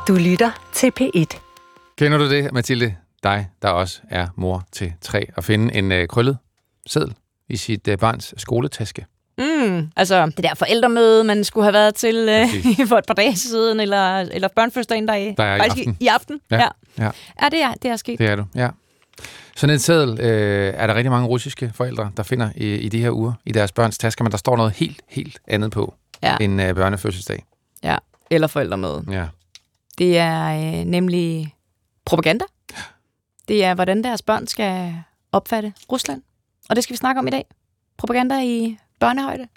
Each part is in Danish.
Du lytter til P1. Kender du det, Mathilde? Dig, der også er mor til 3, at finde en krøllet seddel i sit barns skoletaske. Altså det der forældremøde, man skulle have været til for et par dage siden, eller børnefødselsdagen, der er i aften. Ja, det er sket. Det er du, ja. Sådan en seddel er der rigtig mange russiske forældre, der finder i de her uger i deres børns tasker, men der står noget helt andet på end børnefødselsdag. Ja, eller forældremøde. Ja. Det er nemlig propaganda. Det er, hvordan deres børn skal opfatte Rusland. Og det skal vi snakke om i dag. Propaganda i børnehøjde.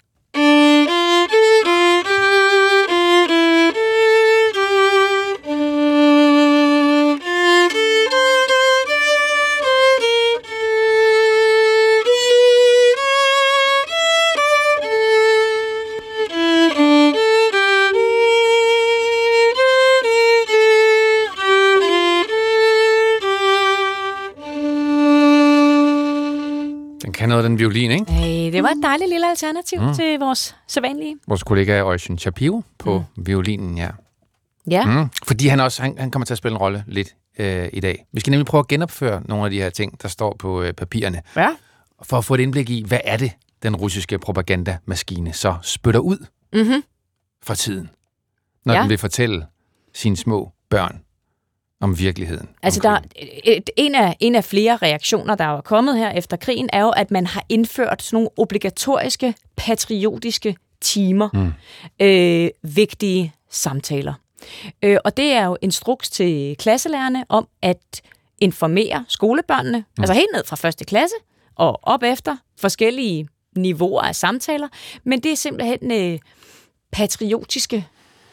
Kan noget af den violin, ikke? Hey, det var et dejligt lille alternativ til vores sædvanlige. Vores kollega Oisin Shapiro på violinen, ja. Ja. Fordi han kommer til at spille en rolle lidt i dag. Vi skal nemlig prøve at genopføre nogle af de her ting, der står på papirerne. Ja. For at få et indblik i, hvad er det, den russiske propagandamaskine så spytter ud fra tiden, når den vil fortælle sine små børn om virkeligheden. Altså, der en af flere reaktioner, der er kommet her efter krigen, er jo, at man har indført sådan nogle obligatoriske, patriotiske timer. Vigtige samtaler. Og det er jo instruks til klasselærerne om at informere skolebørnene, altså helt ned fra 1. klasse og op efter forskellige niveauer af samtaler, men det er simpelthen patriotiske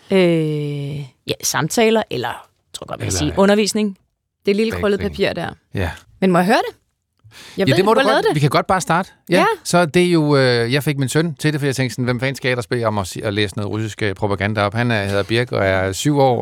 samtaler, eller tror jeg godt, man kan sige undervisning. Det lille krøllet papir der. Ja. Men må jeg høre det? Det må du godt. Vi kan godt bare starte. Ja. Så det er jo... jeg fik min søn til det, for jeg tænkte sådan, hvem fanden skal jeg ellers bede om at læse noget russisk propaganda op? Han hedder Birk og er 7 år,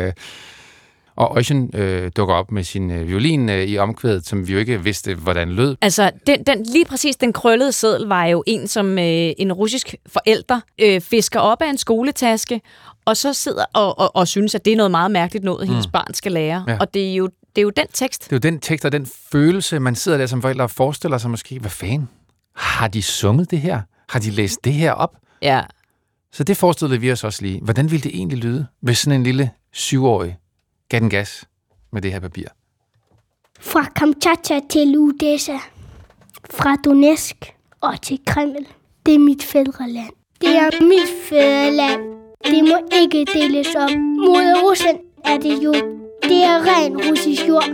og Oisin dukker op med sin violin i omkvædet, som vi jo ikke vidste, hvordan lød. Altså, lige præcis den krøllede seddel var jo en, som en russisk forælder fisker op af en skoletaske, og så sidder og synes, at det er noget meget mærkeligt noget, hendes barn skal lære. Ja. Og det er jo den tekst. Det er jo den tekst og den følelse, man sidder der som forældre og forestiller sig måske, hvad fanden? Har de sunget det her? Har de læst det her op? Ja. Så det forestillede vi os også lige. Hvordan ville det egentlig lyde, hvis sådan en lille 7-årig gav den gas med det her papir? Fra Kamchatka til Odessa, fra Donetsk og til Kreml. Det er mit fædreland. Det er mit fædreland. Det må ikke deles op. Mod Rusland er det jo. Det er ren russisk jord.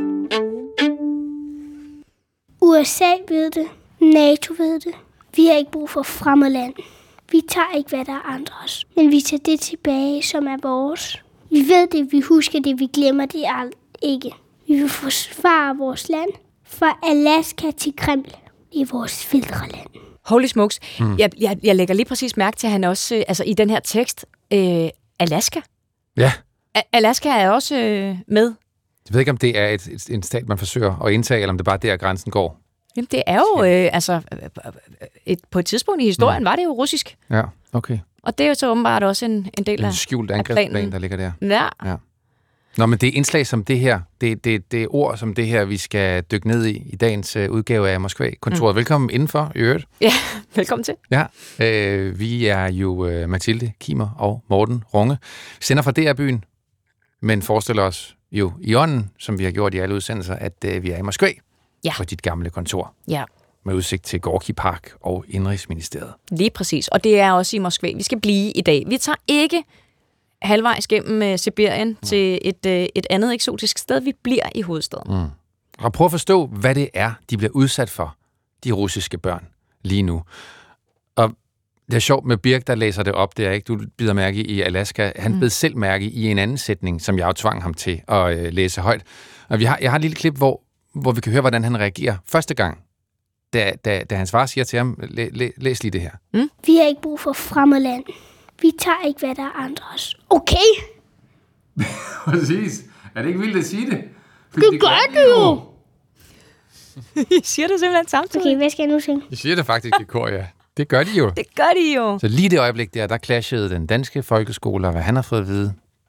USA ved det. NATO ved det. Vi har ikke brug for fremmedland. Vi tager ikke, hvad der er andres. Men vi tager det tilbage, som er vores. Vi ved det, vi husker det, vi glemmer det ikke. Vi vil forsvare vores land. Fra Alaska til Kreml. Det er vores fædreland. Holy smokes. Jeg lægger lige præcis mærke til, at han også, altså i den her tekst, Alaska. Ja. Alaska er også med. Jeg ved ikke, om det er en stat, man forsøger at indtage, eller om det bare der, grænsen går. Jamen, det er jo, på et tidspunkt i historien var det jo russisk. Ja, okay. Og det er jo så åbenbart også en del af en skjult angrebsplan, der ligger der. Ja. Nå, men det er indslag som det her, det er ord som det her, vi skal dykke ned i dagens udgave af Moskva-kontoret. Velkommen indenfor, i øvrigt. Ja, velkommen til. Ja, vi er jo Mathilde Kimer og Morten Runge. Vi sender fra DR-byen, men forestiller os jo i ånden, som vi har gjort i alle udsendelser, at vi er i Moskva på dit gamle kontor. Ja. Med udsigt til Gorki Park og Indrigsministeriet. Lige præcis, og det er også i Moskva. Vi skal blive i dag. Vi tager ikke halvvejs gennem Sibirien til et andet eksotisk sted. Vi bliver i hovedstaden. Og prøv at forstå, hvad det er, de bliver udsat for, de russiske børn, lige nu. Og det er sjovt med Birk, der læser det op der, ikke? Du bider mærke i Alaska. Han bed selv mærke i en anden sætning, som jeg jo tvang ham til at læse højt. Og jeg har et lille klip, hvor vi kan høre, hvordan han reagerer første gang, da hans far siger til ham, læs lige det her. Vi har ikke brug for fremmedland. Vi tager ikke, hvad der er andres. Okay? Præcis. Er det ikke vildt at sige det? Det gør du jo! I siger det simpelthen samtidig. Okay, hvad skal jeg nu sige? I siger det faktisk i kor, ja. Det gør de jo. Det gør de jo. Så lige det øjeblik der clashede den danske folkeskole, og hvad han har fået at vide,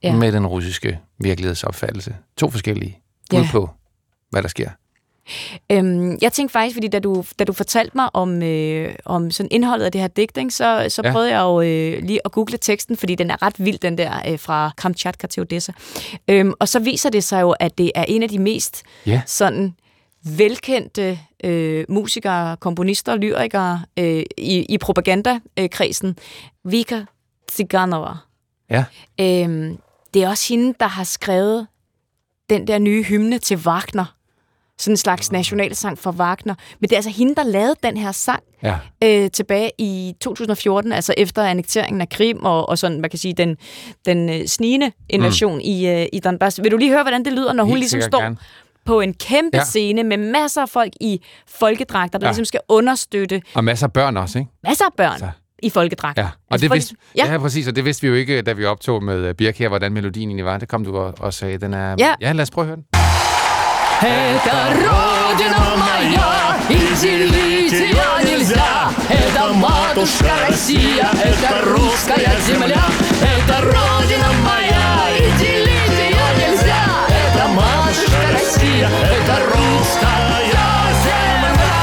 med den russiske virkelighedsopfattelse. 2 forskellige bud på, hvad der sker. Jeg tænkte faktisk, fordi da du fortalte mig om sådan indholdet af det her digt, ikke, så prøvede jeg jo lige at google teksten, fordi den er ret vild, den der fra Kamchatka til Odessa. Og så viser det sig jo, at det er en af de mest sådan velkendte musikere, komponister og lyrikere i propagandakredsen, Vika Tsiganova. Ja. Det er også hende, der har skrevet den der nye hymne til Wagner. Sådan en slags nationalsang for Wagner. Men det er altså hende, der lavede den her sang tilbage i 2014, altså efter annekteringen af Krim og sådan, man kan sige, den snigende invasion i Donbass. Vil du lige høre, hvordan det lyder, når hun ligesom står på en kæmpe scene med masser af folk i folkedragter, der ligesom skal understøtte... Og masser af børn også, ikke? Masser af børn i folkedragter. Ja, og det vidste, præcis, og det vidste vi jo ikke, da vi optog med Birk her, hvordan melodien egentlig var. Det kom du og sagde, den er... Ja, lad os prøve at høre den. Это Родина моя, и делить ее нельзя. Это матушка Россия, это русская земля. Это Родина моя, и делить ее нельзя. Это матушка Россия, это русская земля.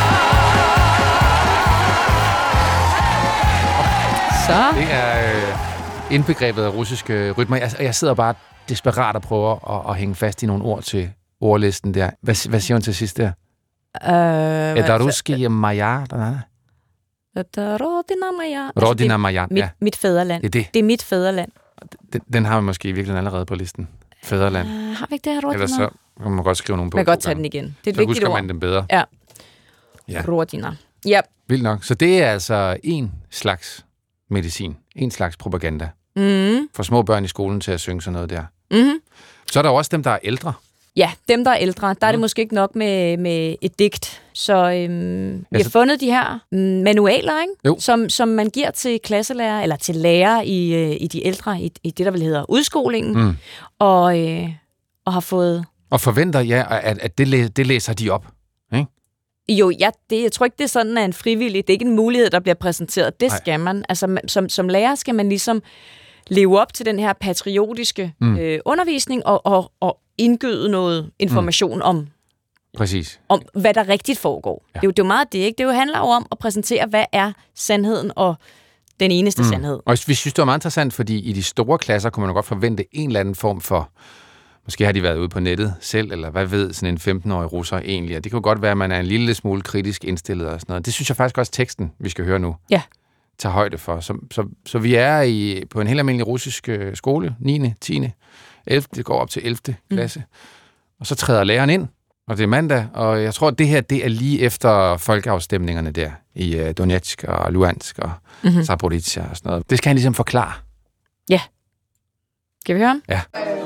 Så. Det er indbegrebet af russiske rytmer. Jeg sidder bare desperat og prøver at hænge fast i nogle ord til ordlisten der. Hvad siger hun til sidst der? Это русские моя. Это Родина моя. Rodina moja, ja. Mit fædreland. Det er mit fædreland. Den har vi måske virkelig allerede på listen. Fædreland. Har vi ikke det her, Rodina? Ellers så kan man godt skrive nogle på. Man kan godt tage den igen. Det er et så vigtigt husker ord. man den bedre. Ja. Rodina. Ja. Vildt nok. Så det er altså en slags medicin. En slags propaganda. For små børn i skolen til at synge sådan noget der. Så er der også dem, der er ældre. Ja, dem, der er ældre, der er det måske ikke nok med et digt. Så vi har fundet de her manualer, ikke? Som man giver til klasselærer, eller til lærere i de ældre, i det, der vil hedder udskolingen, og har fået... Og forventer, at det læser de op, ikke? Jo, jeg tror ikke, det er sådan, at en frivillig, det er ikke en mulighed, der bliver præsenteret. Det skal man. Altså, som lærer skal man ligesom leve op til den her patriotiske undervisning og indgyde noget information om, hvad der rigtigt foregår. Ja. Det er jo meget det, ikke? Det handler jo om at præsentere, hvad er sandheden og den eneste sandhed. Og vi synes, det var meget interessant, fordi i de store klasser kunne man godt forvente en eller anden form for, måske har de været ude på nettet selv, eller hvad ved sådan en 15-årig russer egentlig. Og det kan jo godt være, at man er en lille smule kritisk indstillet og sådan noget. Det synes jeg faktisk også teksten, vi skal høre nu, tager højde for. Så vi er på en helt almindelig russisk skole, 9., 10., 11. Det går op til 11. klasse. Og så træder læreren ind, og det er mandag, og jeg tror, at det her, det er lige efter folkeafstemningerne der i Donetsk og Luhansk og Zaporizhzhia og sådan noget. Det skal han ligesom forklare. Ja. Skal vi høre? Ja.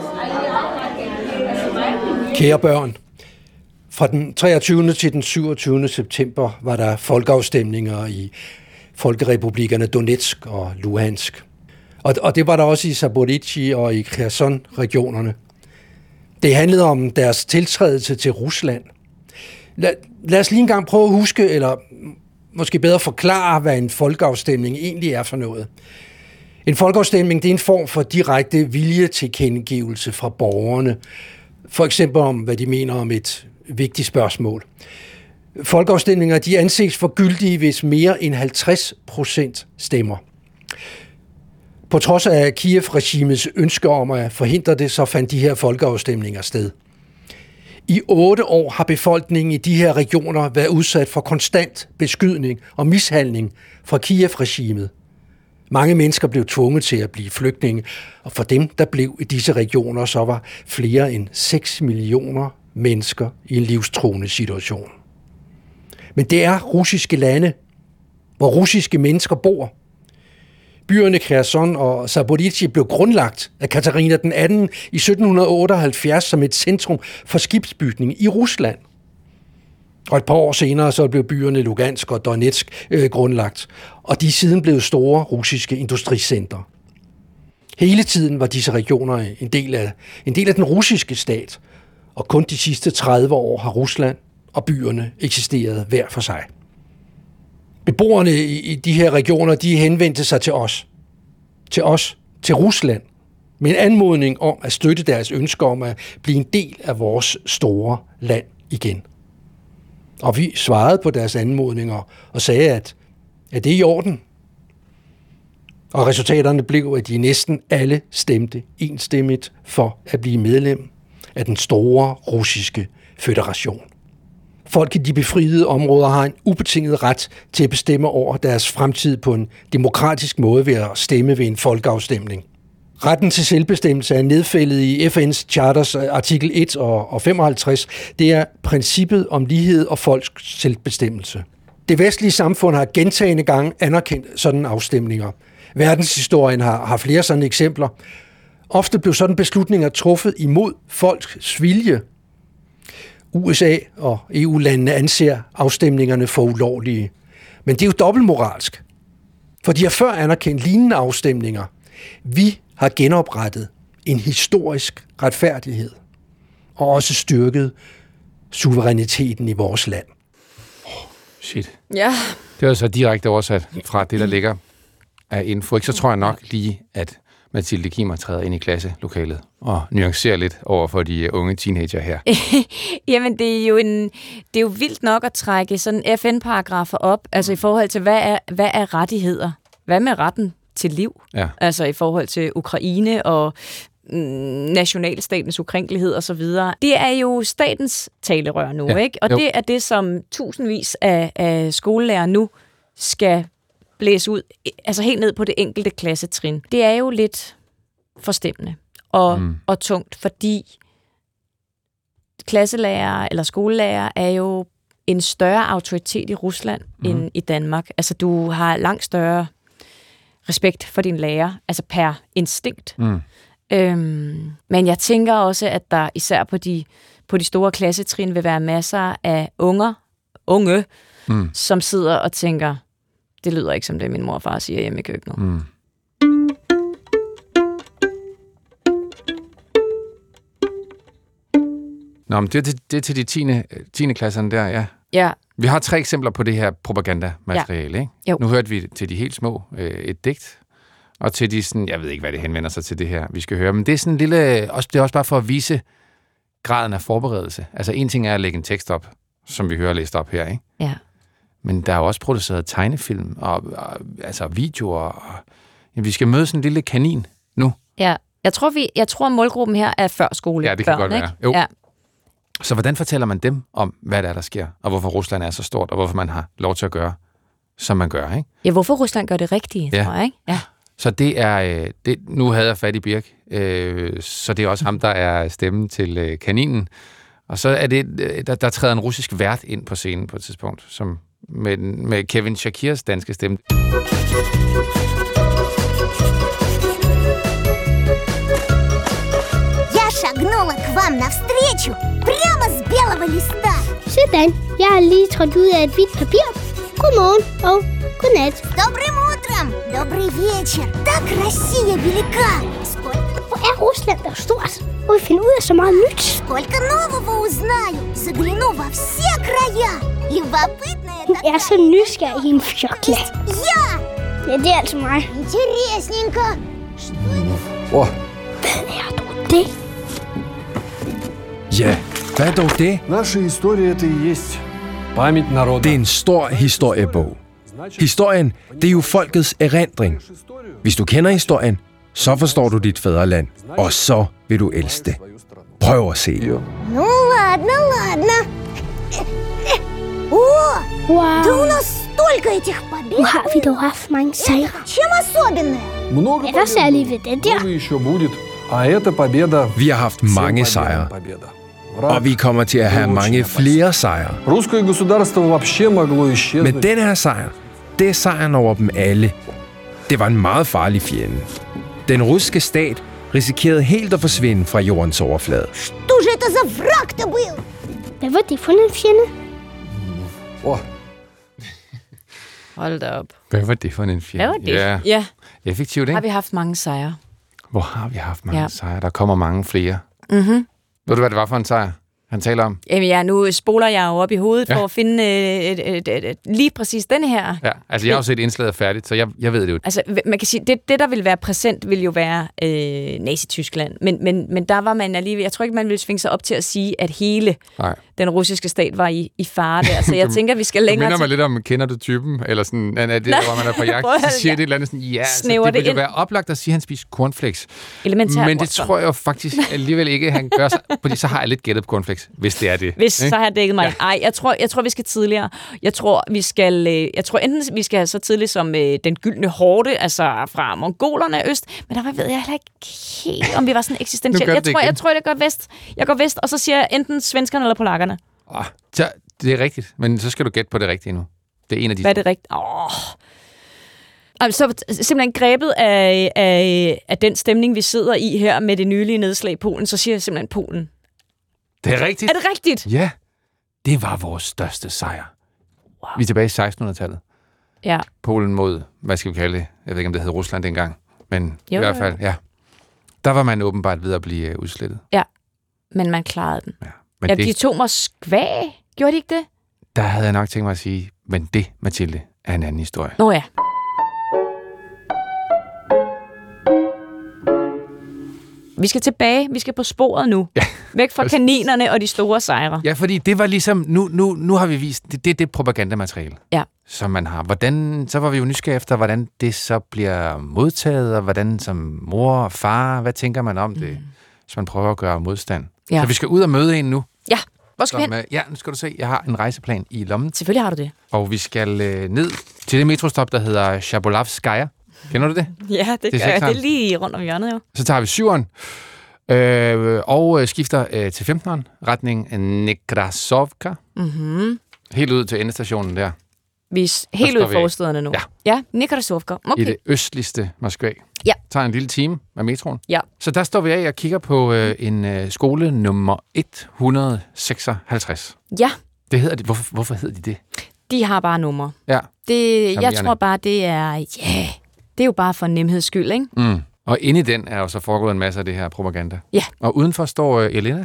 Kære børn, fra den 23. til den 27. september var der folkeafstemninger i folkerepublikkerne Donetsk og Luhansk. Og det var der også i Zaporizhzhia og i Kherson-regionerne. Det handlede om deres tiltrædelse til Rusland. Lad os lige en gang prøve at huske, eller måske bedre forklare, hvad en folkeafstemning egentlig er for noget. En folkeafstemning, det er en form for direkte viljetilkendegivelse fra borgerne. For eksempel om, hvad de mener om et vigtigt spørgsmål. Folkeafstemninger, de anses for gyldige, hvis mere end 50% stemmer. På trods af Kiev-regimets ønske om at forhindre det, så fandt de her folkeafstemninger sted. I 8 år har befolkningen i de her regioner været udsat for konstant beskydning og mishandling fra Kiev-regimet. Mange mennesker blev tvunget til at blive flygtninge, og for dem, der blev i disse regioner, så var flere end 6 millioner mennesker i en livstruende situation. Men det er russiske lande, hvor russiske mennesker bor. Byerne Kherson og Zaporizhzhia blev grundlagt af Katarina den 18. i 1778 som et centrum for skibsbygning i Rusland. Og et par år senere så blev byerne Lugansk og Donetsk grundlagt, og de er siden blevet store russiske industricentre. Hele tiden var disse regioner en del af den russiske stat, og kun de sidste 30 år har Rusland og byerne eksisteret hver for sig. Beboerne i de her regioner, de henvendte sig til os, til Rusland, med en anmodning om at støtte deres ønsker om at blive en del af vores store land igen. Og vi svarede på deres anmodninger og sagde, at det er i orden. Og resultaterne blev, at de næsten alle stemte enstemmigt for at blive medlem af den store russiske føderation. Folk i de befriede områder har en ubetinget ret til at bestemme over deres fremtid på en demokratisk måde ved at stemme ved en folkeafstemning. Retten til selvbestemmelse er nedfældet i FN's Charters artikel 1 og 55. Det er princippet om lighed og folks selvbestemmelse. Det vestlige samfund har gentagne gange anerkendt sådanne afstemninger. Verdenshistorien har flere sådan eksempler. Ofte blev sådan beslutninger truffet imod folks vilje. USA og EU-landene anser afstemningerne for ulovlige. Men det er jo dobbeltmoralsk. For de har før anerkendt lignende afstemninger. Vi har genoprettet en historisk retfærdighed og også styrket suveræniteten i vores land. Shit. Ja. Det var så direkte oversat fra det, der ligger af info. Ikke? Så tror jeg nok lige, at Mathilde Kimmer træder ind i klasselokalet og nuancerer lidt over for de unge teenager her. Jamen, det er jo vildt nok at trække sådan FN-paragrafer op, altså i forhold til, hvad er rettigheder? Hvad med retten til liv? Ja. Altså i forhold til Ukraine og nationalstatens ukrænkelighed og så videre. Det er jo statens talerør nu, ikke? Og det er det, som tusindvis af skolelærere nu skal blæse ud, altså helt ned på det enkelte klassetrin. Det er jo lidt forstemmende og tungt, fordi klasselærer eller skolelærer er jo en større autoritet i Rusland end i Danmark. Altså du har langt større respekt for din lærer, altså per instinkt. Men jeg tænker også, at der især på de store klassetrin vil være masser af unge, som sidder og tænker, det lyder ikke som det, min mor og far siger hjemme i køkkenet. Nå, men det er til de 10. klasserne der, ja. Ja. Vi har 3 eksempler på det her propagandamateriale, ikke? Jo. Nu hørte vi til de helt små et digt, og til de sådan, jeg ved ikke, hvad det henvender sig til det her, vi skal høre, men det er sådan en lille, det er også bare for at vise graden af forberedelse. Altså en ting er at lægge en tekst op, som vi hører læst op her, ikke? Ja. Men der er jo også produceret tegnefilm og altså videoer. Og vi skal møde sådan en lille kanin nu. Ja. Jeg tror målgruppen her er førskole. Ja, det kan godt ikke? være. Jo. Ja. Så hvordan fortæller man dem om, hvad der sker, og hvorfor Rusland er så stort, og hvorfor man har lov til at gøre, som man gør, ikke? Ja, hvorfor Rusland gør det rigtige, tror jeg, ikke? Ja. Så det er, nu havde jeg fat i Birk, så det er også ham, der er stemmen til kaninen. Og så er det, der træder en russisk vært ind på scenen på et tidspunkt, som med Kevin Shakirs danske stemme. Я шагнула к вам навстречу прямо с белого листа. Sådan, jeg har lige trådt ud af et hvidt papir. Godmorgen og godnat. С добрым утром, добрый вечер. Так Россия велика. Hvor er Rusland der stort? Og vi finder ud af så meget nyt. Сколько нового узнаю. Загляну во все края. Любопытная Hun er så nysgerrig i en fjokla. я. Ja, det er altså mig. Интересненько. Hvad er dog det? Ja, hvad er dog det? Наша история – это и есть память народа. Det er en stor historiebog. Historien, det er jo folkets erindring. Hvis du kender historien, så forstår du dit fædreland, og så vil du elske det. Prøv at se. Ну ладно. О, Wow, да у нас столько этих побед. nu har vi dog haft mange sejre. Чем особенное? Много Er der særligt ved det der? много еще будет. А эта победа... Vi har haft mange sejre, og vi kommer til at have mange flere sejre. Русское государство вообще могло исчезнуть. Men den her sejr, det er sejren over dem alle. Det var en meget farlig fjende. Den russiske stat risikerede helt at forsvinde fra jordens overflade. Что же это за враг-то был? Hvad var det for en fjende? Hold da op. Hvad var det for en fjende? Hvad var det? Ja, Ja. effektivt, Har ikke? vi haft mange sejre? Hvor har vi haft mange sejre? Der kommer mange flere. Ved du, hvad det var for en sejr? han taler om? Jamen ja, nu spoler jeg jo op i hovedet for at finde lige præcis denne her. Ja, altså jeg har jo set indslaget færdigt, så jeg ved det jo. Altså man kan sige, det der vil være præsent, vil jo være Nazi-Tyskland. Men der var man alligevel, jeg tror ikke, man ville svinge sig op til at sige, at hele den russiske stat var i fare der. Så jeg tænker, vi skal længere til... Du minder mig lidt om, kender du typen? Eller sådan, er det, hvor man er på jagt, så siger det et eller andet sådan, så det vil jo være oplagt at sige, at han spiser cornflakes. Men det tror jeg tror faktisk alligevel ikke, han gør sig, fordi så har jeg lidt gættet på cornflakes, hvis det er det. Så har jeg dækket mig. Ej, jeg tror, vi skal tidligere. Jeg tror enten vi skal så tidligt som den gyldne horde, altså fra mongolerne øst, men der ved jeg heller ikke helt, om vi var sådan eksistentielt. Jeg tror, det går vest. Jeg går vest, og så siger jeg enten svenskerne eller polakkerne. Det er rigtigt, men så skal du gætte på det rigtige nu. Det er en af de... Hvad er det rigtigt? Så simpelthen grebet af den stemning, vi sidder i her med det nylige nedslag i Polen, så siger jeg simpelthen Polen. Det er rigtigt. Er det rigtigt? Ja. Det var vores største sejr. Wow. Vi er tilbage i 1600-tallet. Ja. Polen mod, hvad skal vi kalde det? Jeg ved ikke, om det hed Rusland dengang. Men i hvert fald, der var man åbenbart ved at blive udslettet. Ja, men man klarede den. Ja, men de tog Moskva. Gjorde de ikke det? Der havde jeg nok tænkt mig at sige, men det, Mathilde, er en anden historie. Nå ja. Vi skal tilbage. Vi skal på sporet nu. Ja. Væk fra kaninerne og de store sejre. Ja, fordi det var ligesom... Nu har vi vist... Det er det propagandamateriale, som man har. Så var vi jo nysgerrige efter, hvordan det så bliver modtaget, og hvordan som mor og far, hvad tænker man om det, hvis man prøver at gøre modstand. Ja. Så vi skal ud og møde en nu. Ja, hvor skal vi hen? Nu skal du se, jeg har en rejseplan i lommen. Selvfølgelig har du det. Og vi skal ned til det metrostop, der hedder Chabolavskaya. Kender du det? Ja, det gør jeg. Det er lige rundt om hjørnet jo. Så tager vi 7'eren og skifter til 15'eren, retning Nekrasovka. Mm-hmm. Helt ud til endestationen der. Vi er helt ud i forstederne nu. Ja, Nekrasovka. Okay. I det østligste Moskva. Ja. Tager en lille time med metroen. Ja. Så der står vi af og kigger på en skole nummer 156. Ja. Det hedder det. Hvorfor hedder de det? De har bare numre. Ja. Jeg tror bare, det er... Det er jo bare for nemheds skyld, ikke? Mm. Og inde i den er jo så foregået en masse af det her propaganda. Ja. Og udenfor står Elena,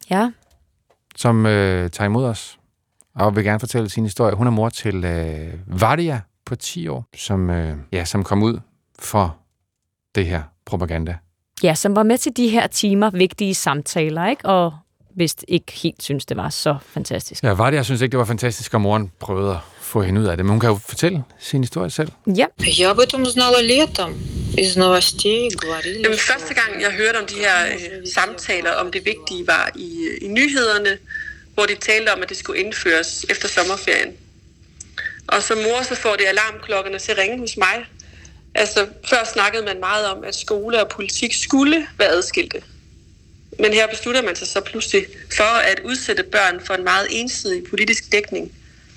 som tager imod os og vil gerne fortælle sin historie. Hun er mor til Vadia på 10 år, som kom ud for det her propaganda. Ja, som var med til de her timer, vigtige samtaler, ikke? Og vist ikke helt synes, det var så fantastisk. Ja, Vadia synes ikke, det var fantastisk, og moren prøvede at få hende ud af det. Men hun kan jo fortælle sin historie selv. Ja. Jeg об этом узнала летом из новостей говорили. Første gang jeg hørte om de her samtaler om det vigtige var i nyhederne, hvor de talte om at det skulle indføres efter sommerferien. Og som mor så får det alarmklokkerne til at ringe hos mig. Altså før snakkede man meget om at skole og politik skulle være adskilte. Men her beslutter man sig så pludselig for at udsætte børn for en meget ensidig politisk dækning.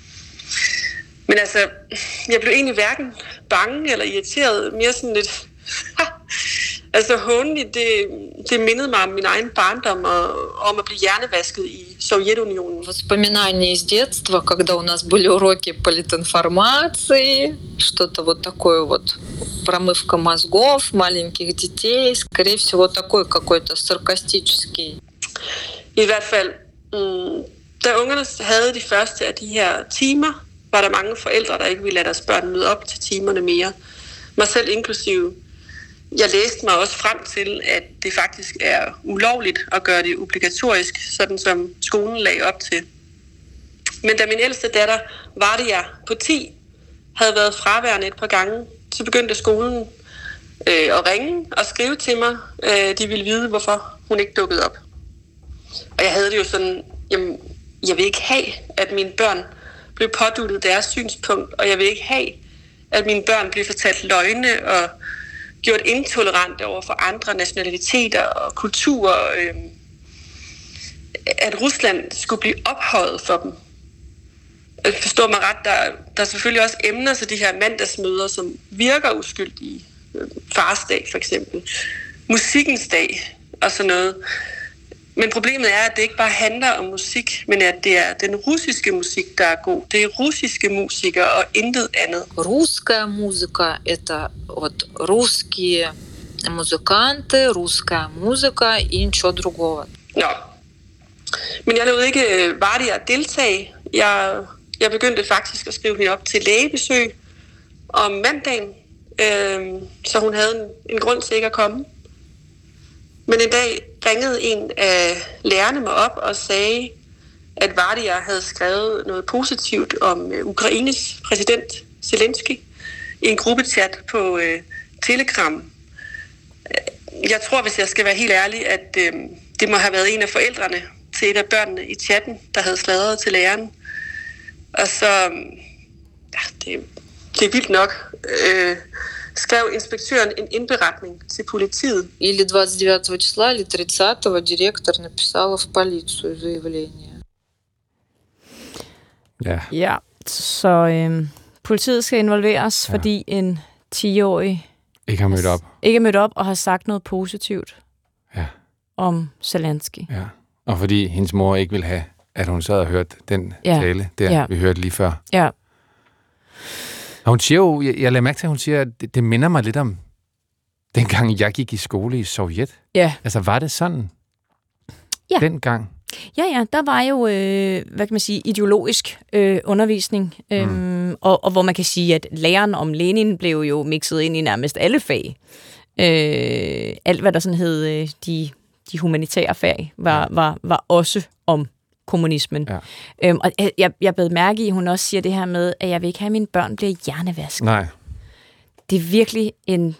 Men altså, jeg blev egentlig hverken bange eller irriteret, mere sådan lidt... altså hånligt, det mindede mig om min egen barndom og om at blive hjernevasket i Sovjetunionen. Воспоминания из детства, когда у нас были уроки политинформации, что-то вот такое вот, промывка мозгов маленьких детей, скорее всего, такой какой-то саркастический. I hvert fald, da ungerne havde de første af de her timer, var der mange forældre, der ikke ville lade deres børn møde op til timerne mere. Mig selv inklusive. Jeg læste mig også frem til, at det faktisk er ulovligt at gøre det obligatorisk, sådan som skolen lagde op til. Men da min ældste datter, Vadia på 10, havde været fraværende et par gange, så begyndte skolen at ringe og skrive til mig. De ville vide, hvorfor hun ikke dukkede op. Og jeg havde det jo sådan, jamen, jeg vil ikke have, at mine børn blev påduttet deres synspunkt, og jeg vil ikke have, at mine børn blev fortalt løgne og gjort intolerante over for andre nationaliteter og kulturer. At Rusland skulle blive ophøjet for dem. Forstår mig ret, der er selvfølgelig også emner til de her mandagsmøder, som virker uskyldige. Farsdag for eksempel. Musikkens dag og sådan noget. Men problemet er, at det ikke bare handler om musik, men at det er den russiske musik, der er god. Det er russiske musikere og intet andet. Русская музыка – это вот русские музыканты, русская музыка и ничего другого. Nå, Men jeg lod ikke Vardia deltage. Jeg begyndte faktisk at skrive hende op til lægebesøg om mandagen, så hun havde en grund til ikke at komme. Men en dag ringede en af lærerne mig op og sagde, at Vardia havde skrevet noget positivt om Ukraines præsident Zelensky i en gruppechat på Telegram. Jeg tror, hvis jeg skal være helt ærlig, at det må have været en af forældrene til et af børnene i chatten, der havde sladret til læreren. Og så, det er vildt nok, skrev inspektøren en indberetning til politiet. Или 29 числа, или 30-го директор написала в полицию заявление. Ja, så politiet skal involveres, fordi en 10-årig ikke er mødt op og har sagt noget positivt om Zelensky. Ja, og fordi hendes mor ikke ville have, at hun sad og hørte den tale, vi hørte lige før. Ja. Og hun siger jo, jeg lader mærke til, at hun siger, at det minder mig lidt om dengang jeg gik i skole i Sovjet. Ja. Altså, var det sådan dengang? Ja, der var jo, hvad kan man sige, ideologisk undervisning, og hvor man kan sige, at læren om Lenin blev jo mixet ind i nærmest alle fag. Alt, hvad der sådan hed de humanitære fag, var også om kommunismen. Ja. Og jeg bed mærke i, at hun også siger det her med, at jeg vil ikke have, at mine børn bliver hjernevasket. Nej. Det er virkelig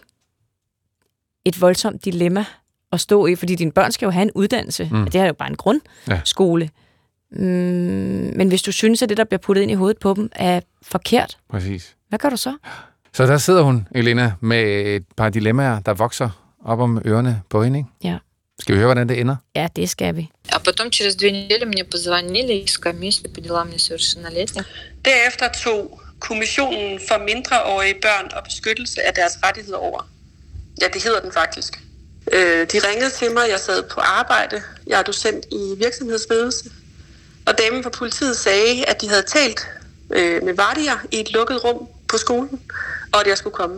et voldsomt dilemma at stå i, fordi dine børn skal jo have en uddannelse. Det er jo bare en grundskole. Men hvis du synes, at det, der bliver puttet ind i hovedet på dem, er forkert, præcis. Hvad gør du så? Så der sidder hun, Elena, med et par dilemmaer, der vokser op om ørerne på hende, ikke? Ja. Skal vi høre, hvordan det ender? Ja, det skal vi. А потом через 2 недели мне позвонили из комиссии по делам несовершеннолетних. Derefter tog Kommissionen for mindreårige børn og beskyttelse af deres rettigheder over. Ja, det hedder den faktisk. De ringede til mig, jeg sad på arbejde. Jeg er docent i virksomhedsledelse. Og damen fra politiet sagde, at de havde talt med Vardia i et lukket rum på skolen, og at jeg skulle komme.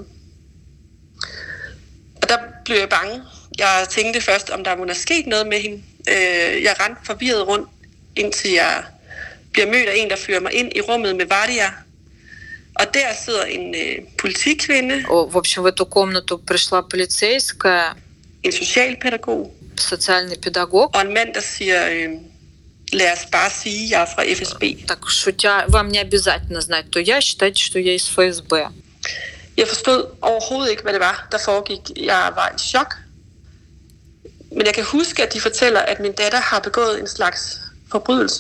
Og der blev jeg bange. Jeg tænkte først, om der må have sket noget med hende. Jeg rendte forvirret rundt, indtil jeg bliver mødt af en, der fører mig ind i rummet med Vardia. Og der sidder en politikvinde. В общем, в эту комнату пришла полицейская, en socialpædagog, социальный педагог. Og en mand, der siger, lad os bare sige, jeg er fra FSB. Так, шутя, вам не обязательно знать, то я считайте, что я из ФСБ. Jeg forstod overhovedet ikke, hvad det var, der foregik. Jeg var i chok. Men jeg kan huske, at de fortæller, at min datter har begået en slags forbrydelse.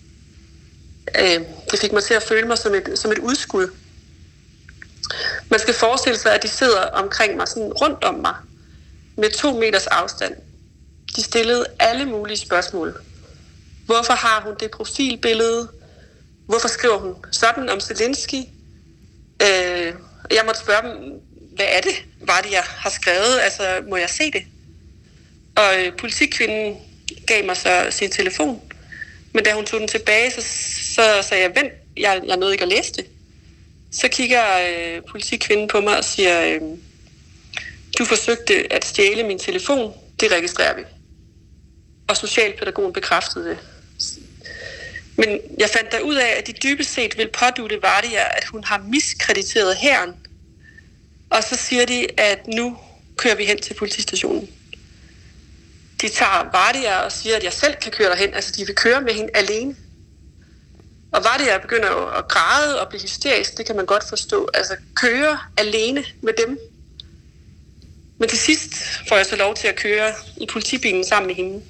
Det fik mig til at føle mig som et udskud. Man skal forestille sig, at de sidder omkring mig, sådan rundt om mig, med 2 meters afstand. De stillede alle mulige spørgsmål. Hvorfor har hun det profilbillede? Hvorfor skriver hun sådan om Zelensky? Jeg måtte spørge dem, hvad er det, Vardia har skrevet? Altså, må jeg se det? Og politikvinden gav mig så sin telefon. Men da hun tog den tilbage, så sagde jeg, vent, jeg nåede ikke at læse det. Så kigger politikvinden på mig og siger, du forsøgte at stjæle min telefon, det registrerer vi. Og socialpædagogen bekræftede det. Men jeg fandt der ud af, at de dybest set vil pådutte Vardia, at hun har miskrediteret hæren. Og så siger de, at nu kører vi hen til politistationen. De tager Vardia og siger, at jeg selv kan køre derhen. Altså, de vil køre med hende alene. Og Vardia begynder jo at græde og blive hysterisk. Det kan man godt forstå. Altså, køre alene med dem. Men til sidst får jeg så lov til at køre i politibilen sammen med hende.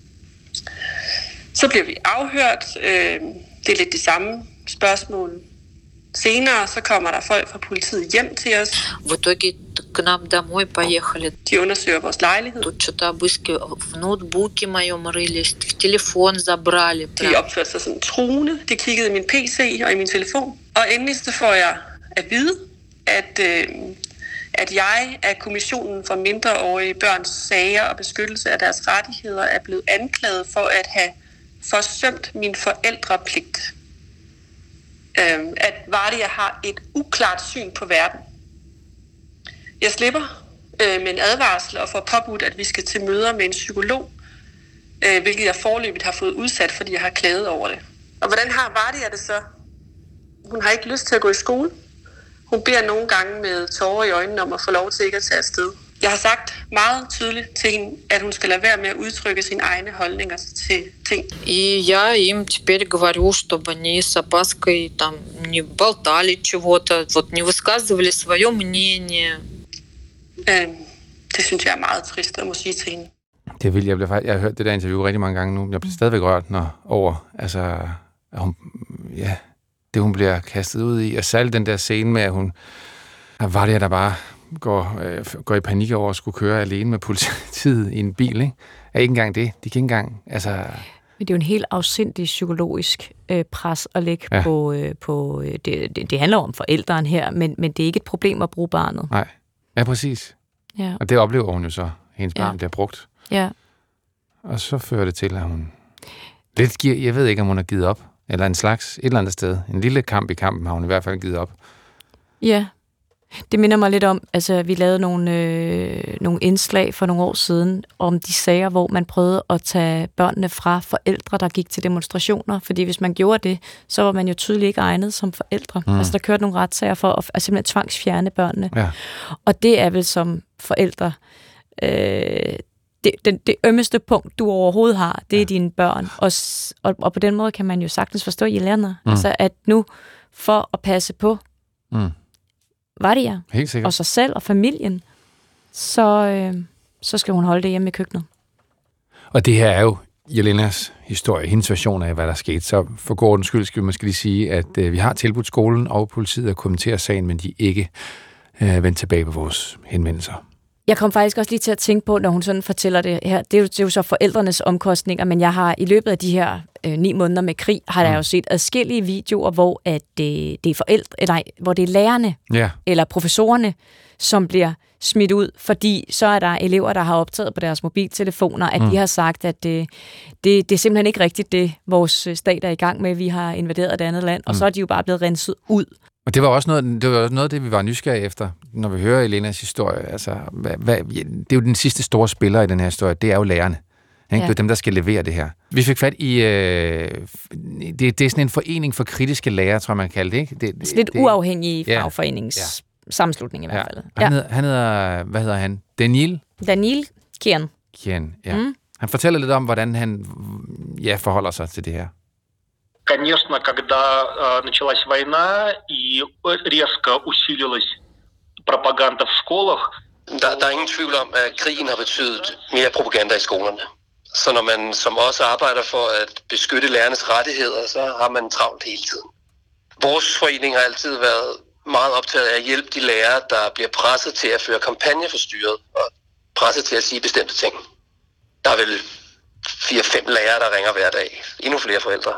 Så bliver vi afhørt. Det er lidt de samme spørgsmål. Senere så kommer der folk fra politiet hjem til os. В итоге к нам домой поехали. De undersøger vores lejlighed. Тут что-то обыски в ноутбуке моем рылись, в телефон забрали. De opførte sig sådan truende. De kiggede i min PC og i min telefon. Og endelig så får jeg at vide, at jeg af Kommissionen for mindreårige børns sager og beskyttelse af deres rettigheder er blevet anklaget for at have forsømt min forældrepligt. At Vardia har et uklart syn på verden. Jeg slipper med en advarsel og får påbudt, at vi skal til møder med en psykolog. hvilket jeg forløbigt har fået udsat, fordi jeg har klaget over det. Og hvordan har Vardia det så? Hun har ikke lyst til at gå i skole. Hun beder nogle gange med tårer i øjnene om at få lov til ikke at tage afsted. Jeg har sagt meget tydeligt til hende, at hun skal lade være med at udtrykke sine egne holdninger til ting. И я им теперь говорю, чтобы они с опаской там не болтали чего-то, вот не высказывали свое мнение. Det synes jeg er meget trist at må sige til hende. Det vil jeg har hørt det der interview rigtig mange gange nu. Jeg bliver stadigvæk rørt over, altså, at hun, ja, det hun bliver kastet ud i. Og særligt den der scene med, at Vardia, der bare går i panik over at skulle køre alene med politiet i en bil, ikke? Er ikke engang det. De kan ikke engang, altså... Men det er jo en helt afsindig psykologisk pres at lægge på det handler om forældrene her, men det er ikke et problem at bruge barnet. Nej, ja, præcis. Ja. Og det oplever hun jo så. Hendes barn bliver brugt. Ja. Og så fører det til, at hun lidt giver, jeg ved ikke, om hun har givet op, eller en slags, et eller andet sted. En lille kamp i kampen har hun i hvert fald givet op. Ja. Det minder mig lidt om, altså vi lavede nogle indslag for nogle år siden om de sager, hvor man prøvede at tage børnene fra forældre, der gik til demonstrationer. Fordi hvis man gjorde det, så var man jo tydeligt ikke egnet som forældre. Altså der kørte nogle retssager for at simpelthen tvangsfjerne børnene. Ja. Og det er vel som forældre det ømmeste punkt, du overhovedet har, det er dine børn. Og på den måde kan man jo sagtens forstå Jelena. Altså at nu for at passe på Vardia, og sig selv og familien, så skal hun holde det hjemme i køkkenet. Og det her er jo Jelenas historie, hendes version af, hvad der skete. Så for god ordens skyld skal vi måske lige sige, at vi har tilbudt skolen og politiet at kommentere sagen, men de er ikke vendt tilbage på vores henvendelser. Jeg kom faktisk også lige til at tænke på, når hun sådan fortæller det her, det er jo så forældrenes omkostninger, men jeg har i løbet af de her 9 måneder med krig, har jeg jo set adskillige videoer, hvor at det er forældre, eller hvor det er lærerne eller professorerne, som bliver smidt ud, fordi så er der elever, der har optaget på deres mobiltelefoner, at de har sagt, at det er simpelthen ikke rigtigt, det vores stat er i gang med, vi har invaderet et andet land, og så er de jo bare blevet renset ud. Og det var også noget af det, vi var nysgerrige efter, når vi hører Jelenas historie. Altså, det er jo den sidste store spiller i den her historie, det er jo lærerne. Ikke? Det er dem, der skal levere det her. Vi fik fat i... det er sådan en forening for kritiske lærere, tror jeg, man kalder det, ikke? Det lidt uafhængig fagforeningssammenslutning i hvert fald. Han hedder... Hvad hedder han? Daniil Kian. Ja. Han fortæller lidt om, hvordan han forholder sig til det her. Конечно, когда началась война и резко усилилась пропаганда в школах. Der er ingen tvivl om, at krigen har betydet mere propaganda i skolerne. Så når man som også arbejder for at beskytte lærernes rettigheder, så har man travlt hele tiden. Vores forening har altid været meget optaget af at hjælpe de lærere, der bliver presset til at føre kampagne for styret og presset til at sige bestemte ting. Der er vel 4-5 lærere, der ringer hver dag. Endnu flere forældre.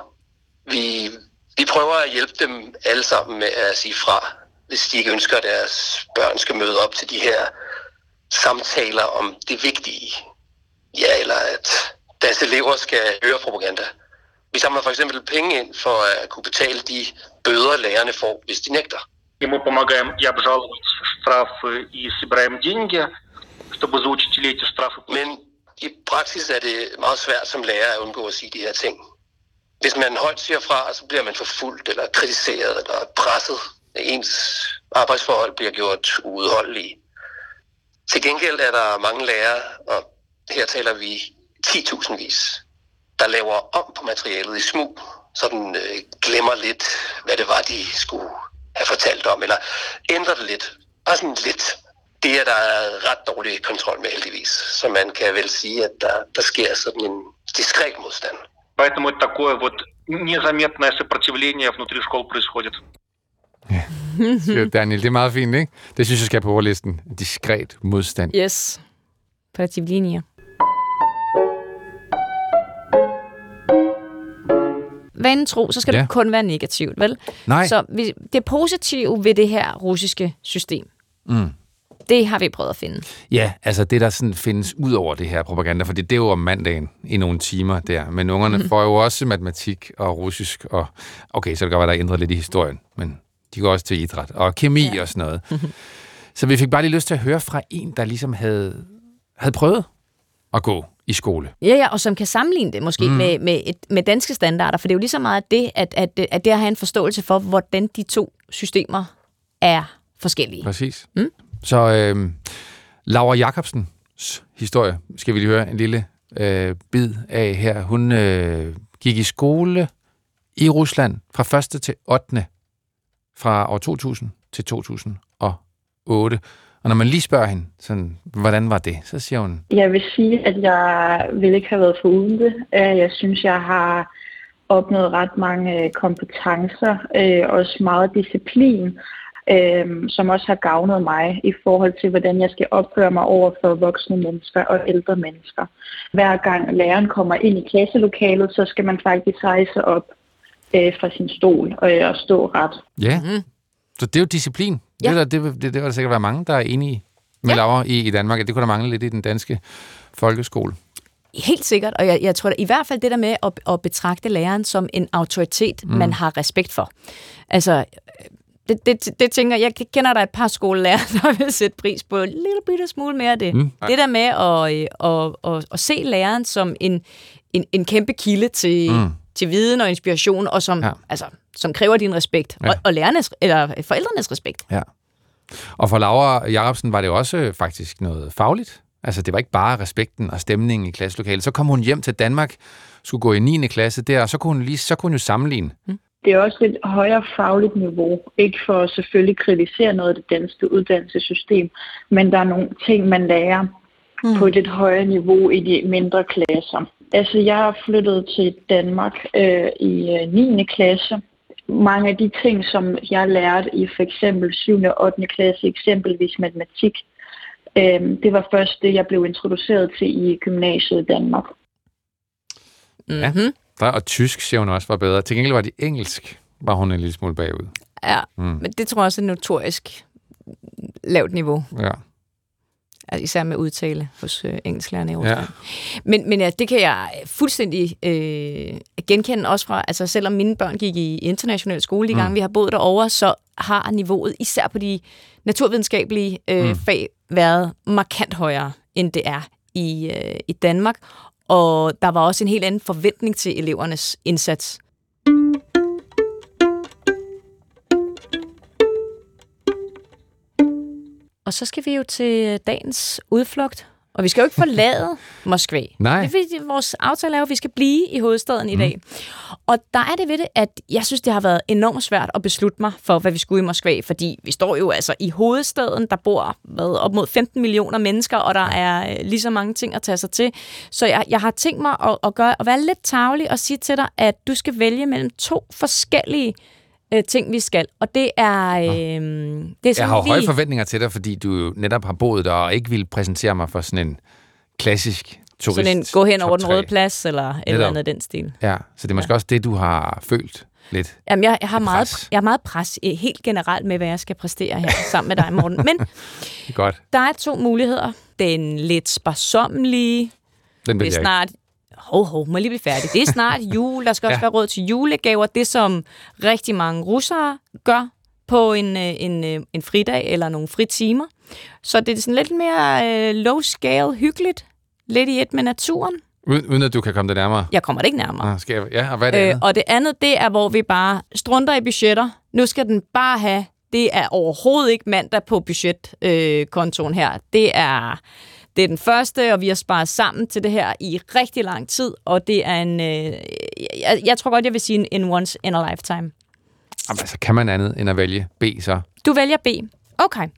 Vi prøver at hjælpe dem alle sammen med at sige fra, hvis de ikke ønsker, at deres børn skal møde op til de her samtaler om det vigtige. Ja, eller at deres elever skal høre propaganda. Vi samler for eksempel penge ind for at kunne betale de bøder, lærerne får, hvis de nægter. И мы помогаем и обжаловать штрафы, и собираем деньги, чтобы за учителей эти штрафы. Men i praksis er det meget svært som lærer at undgå at sige de her ting. Hvis man højt siger fra, så bliver man forfulgt eller kritiseret eller presset. Ens arbejdsforhold bliver gjort uudholdelige. Til gengæld er der mange lærere, og her taler vi 10.000-vis, der laver om på materialet i smug, så den glemmer lidt, hvad det var, de skulle have fortalt om, eller ændrer det lidt. Bare sådan lidt. Det er der ret dårlig kontrol med heldigvis, så man kan vel sige, at der sker sådan en diskret modstand. Поэтому это такое вот незаметное сопротивление внутри школ происходит. Ja, Daniel, det er meget fint, ikke? Det synes jeg skal på overlisten. Diskret modstand. Yes. Сопротивление. Vanen tro, så skal det kun være negativt, vel? Nej. Så det positive ved det her russiske system, det har vi prøvet at finde. Ja, altså det, der sådan findes ud over det her propaganda, for det er jo om mandagen i nogle timer der, men ungerne får jo også matematik og russisk, og okay, så det kan godt være, der er ændret lidt i historien, men de går også til idræt og kemi og sådan noget. Så vi fik bare lige lyst til at høre fra en, der ligesom havde prøvet at gå i skole. Ja, og som kan sammenligne det måske med danske standarder, for det er jo lige så meget det, at det at have en forståelse for, hvordan de to systemer er forskellige. Præcis. Så Laura Jacobsens historie skal vi lige høre en lille bid af her. Hun gik i skole i Rusland fra 1. til 8. fra år 2000 til 2008. Og når man lige spørger hende, sådan, hvordan var det, så siger hun... Jeg vil sige, at jeg ville ikke have været foruden det. Jeg synes, jeg har opnået ret mange kompetencer, også meget disciplin, som også har gavnet mig i forhold til, hvordan jeg skal opføre mig over for voksne mennesker og ældre mennesker. Hver gang læreren kommer ind i klasselokalet, så skal man faktisk rejse op fra sin stol og stå ret. Ja, så det er jo disciplin. Ja. Det vil der sikkert være mange, der er enige med Laura i Danmark, at det kunne der mangle lidt i den danske folkeskole. Helt sikkert, og jeg tror i hvert fald det der med at betragte læreren som en autoritet, man har respekt for. Altså, det tænker jeg kender der et par skolelærer, der vil sætte pris på en lille bitte smule mere af det. Det der med at se læreren som en kæmpe kilde til viden og inspiration, og som kræver din respekt, og lærernes, eller forældrenes respekt. Ja. Og for Laura Jacobsen var det også faktisk noget fagligt. Altså, det var ikke bare respekten og stemningen i klasselokalet. Så kom hun hjem til Danmark, skulle gå i 9. klasse der, og så kunne hun jo sammenligne. Det er også et højere fagligt niveau. Ikke for at selvfølgelig kritisere noget af det danske uddannelsessystem, men der er nogle ting, man lærer på et lidt højere niveau i de mindre klasser. Altså, jeg er flyttet til Danmark i 9. klasse. Mange af de ting, som jeg lærte i for eksempel 7. og 8. klasse, eksempelvis matematik, det var først det, jeg blev introduceret til i gymnasiet i Danmark. Ja, og tysk, siger hun også, var bedre. Til gengæld var det engelsk, var hun en lille smule bagud. Ja, men det tror jeg også er notorisk lavt niveau. Ja. Altså, især med udtale hos engelsklærerne i Rusland. Ja. Men ja, det kan jeg fuldstændig genkende også fra, altså selvom mine børn gik i international skole, de gange vi har boet derovre, så har niveauet, især på de naturvidenskabelige fag, været markant højere, end det er i Danmark. Og der var også en helt anden forventning til elevernes indsats. Og så skal vi jo til dagens udflugt. Og vi skal jo ikke forlade Moskva. Nej. Det er fordi, vores aftale er jo, at vi skal blive i hovedstaden i dag. Og der er det ved det, at jeg synes, det har været enormt svært at beslutte mig for, hvad vi skulle i Moskva. Fordi vi står jo altså i hovedstaden, der bor op mod 15 millioner mennesker, og der er lige så mange ting at tage sig til. Så jeg har tænkt mig at være lidt tarvelig og sige til dig, at du skal vælge mellem 2 forskellige ting, vi skal. Og det er... Jeg har høje forventninger til dig, fordi du jo netop har boet der og ikke ville præsentere mig for sådan en klassisk turist. Sådan en gå hen over den røde plads, eller et eller andet den stil. Ja, så det er måske også det, du har følt lidt. Jamen, jeg har meget pres helt generelt med, hvad jeg skal præstere her sammen med dig, Morten. Men godt. Der er 2 muligheder. Den lidt sparsommelige. Den det er snart... må lige blive færdig. Det er snart jul. Der skal også være råd til julegaver. Det, som rigtig mange russere gør på en fridag eller nogle fritimer. Så det er sådan lidt mere low scale, hyggeligt. Lidt i et med naturen. Uden at du kan komme det nærmere? Jeg kommer det ikke nærmere. Og hvad er det andet? Og det andet, det er, hvor vi bare strunter i budgetter. Nu skal den bare have... Det er overhovedet ikke mandag på budgetkontoen her. Det er den første, og vi har sparet sammen til det her i rigtig lang tid, og det er en... jeg tror godt, jeg vil sige en once in a lifetime. Jamen, altså, kan man andet end at vælge B, så? Du vælger B. Okay.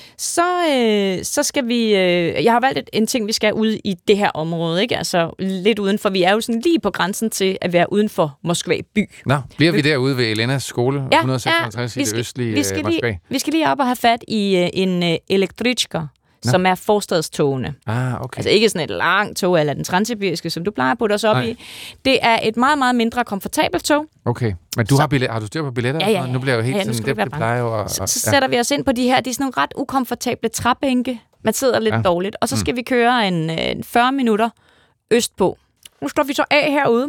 Så skal vi... jeg har valgt en ting, vi skal ud i det her område, ikke? Altså lidt udenfor. Vi er jo sådan lige på grænsen til at være uden for Moskva by. Nå, bliver vi derude ved Elenas skole, 156 i det østlige Moskva? Vi skal lige op og have fat i en elektrichka, som er forstadstogene. Okay. Altså ikke sådan et langt tog, eller den transsibiriske, som du plejer at putte os op i. Det er et meget, meget mindre komfortabelt tog. Okay, men har du styr på billetter? Ja. Nu bliver jeg jo helt sådan, det plejer jo så sætter vi os ind på de her, de er sådan nogle ret ukomfortable træbænke. Man sidder lidt dårligt, og så skal vi køre en 40 minutter østpå. Nu står vi så af herude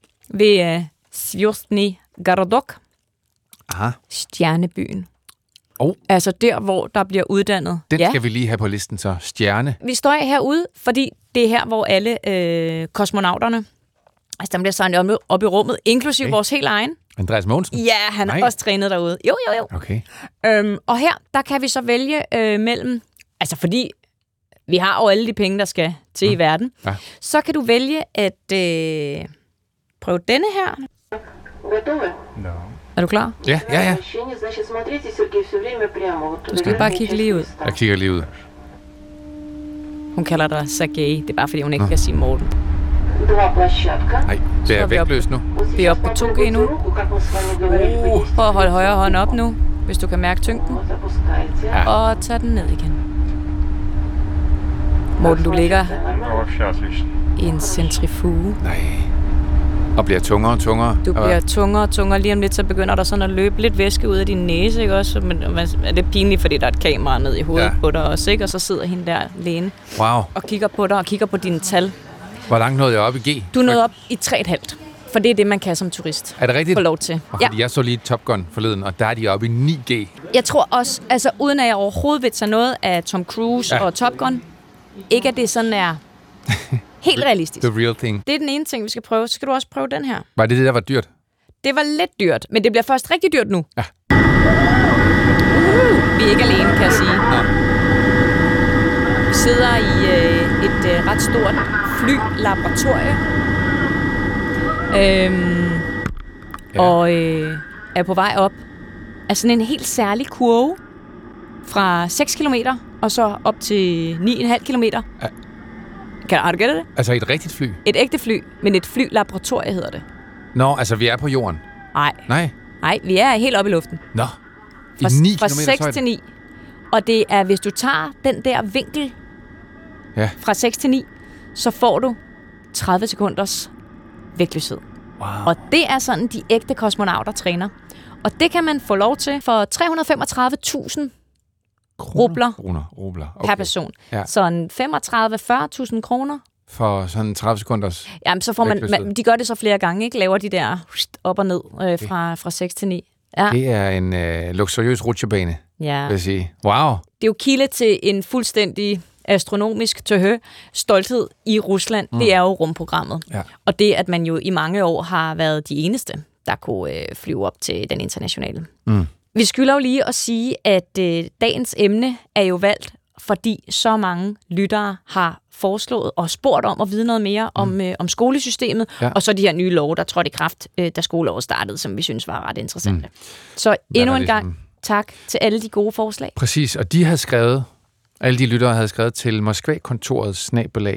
ved Zvjostny Gorodok. Aha. Stjernebyen. Altså der, hvor der bliver uddannet. Den skal vi lige have på listen, så. Stjerne. Vi står herude, fordi det er her, hvor alle kosmonauterne, altså der bliver samlet op i rummet, inklusive vores helt egen. Andreas Mogensen? Ja, han er også trænet derude. Jo. Okay. Og her, der kan vi så vælge mellem, altså fordi vi har jo alle de penge, der skal til i verden, så kan du vælge at prøve denne her. Er du klar? Ja. Du skal bare kigge lige ud. Jeg kigger lige ud. Hun kalder dig Sergej. Det er bare, fordi hun ikke kan sige Morten. Nej, det er vægtløst nu. Vi er oppe på 2G nu. Prøv at holde højre hånd op nu, hvis du kan mærke tyngden. Ja. Og tag den ned igen. Morten, du ligger i en centrifuge. Nej. Og bliver tungere og tungere. Du bliver tungere og tungere. Lige om lidt, så begynder der sådan at løbe lidt væske ud af din næse, ikke også? Men er det pinligt, fordi der er et kamera ned i hovedet på dig også, ikke? Og så sidder hende der alene og kigger på dig og kigger på dine tal. Hvor langt nåede jeg op i G? Du nåede op i 3,5. For det er det, man kan som turist. Er det rigtigt? Få lov til. Fordi jeg så lige Top Gun forleden, og der er de oppe i 9G. Jeg tror også, altså uden at jeg overhovedet vil tage noget af Tom Cruise og Top Gun, ikke at det sådan er helt realistisk. The real thing. Det er den ene ting, vi skal prøve. Så skal du også prøve den her. Var det der var dyrt? Det var lidt dyrt, men det bliver først rigtig dyrt nu. Ja. Vi er ikke alene, kan jeg sige. Ja. Vi sidder i et ret stort flylaboratorie. Og er på vej op af sådan en helt særlig kurve fra 6 kilometer og så op til 9,5 kilometer. Ja. Har du gættet det? Altså et rigtigt fly? Et ægte fly, men et flylaboratorie hedder det. Nå, altså vi er på jorden? Nej, vi er helt oppe i luften. Nå, i 9 kilometer fra 6 til 9. Og det er, hvis du tager den der vinkel fra 6 til 9, så får du 30 sekunders vægtløshed. Wow. Og det er sådan, de ægte kosmonauter træner. Og det kan man få lov til for 335.000 rubler per person. Ja. Så 35-40.000 kroner. For sådan 30 sekunders. Jamen, så får man, de gør det så flere gange, ikke? Laver de der op og ned fra 6 til 9. Ja. Det er en luksuriøs rutsjebane, vil jeg sige. Wow. Det er jo kilde til en fuldstændig astronomisk stolthed i Rusland. Det er jo rumprogrammet. Ja. Og det, at man jo i mange år har været de eneste, der kunne flyve op til den internationale. Vi skylder jo lige at sige, at dagens emne er jo valgt, fordi så mange lyttere har foreslået og spurgt om at vide noget mere om skolesystemet, og så de her nye love, der trådte i kraft, da skoleåret startede, som vi synes var ret interessante. Så endnu en gang tak til alle de gode forslag. Præcis, og de havde skrevet, alle de lyttere havde skrevet til Moskva-kontoret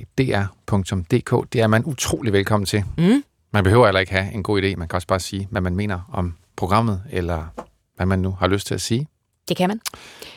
@dr.dk. Det er man utrolig velkommen til. Man behøver heller ikke have en god idé. Man kan også bare sige, hvad man mener om programmet, eller hvad man nu har lyst til at sige. Det kan man.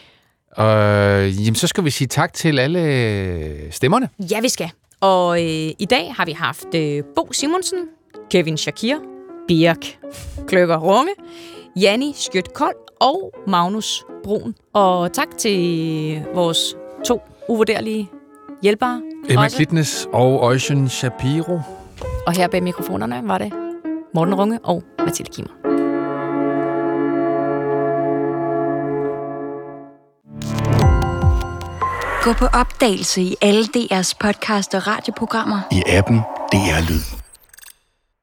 Jamen, så skal vi sige tak til alle stemmerne. Ja, vi skal. Og i dag har vi haft Bo Simonsen, Kevin Shakir, Birk Kløkker Runge, Janni Skjødt Kold og Magnus Brun. Og tak til vores 2 uvurderlige hjælpere. Emma Klitnes og Ocean Shapiro. Og her bag mikrofonerne var det Morten Runge og Mathilde Kimmer. Gå på opdagelse i alle DR's podcast og radioprogrammer. I appen DR Lyd.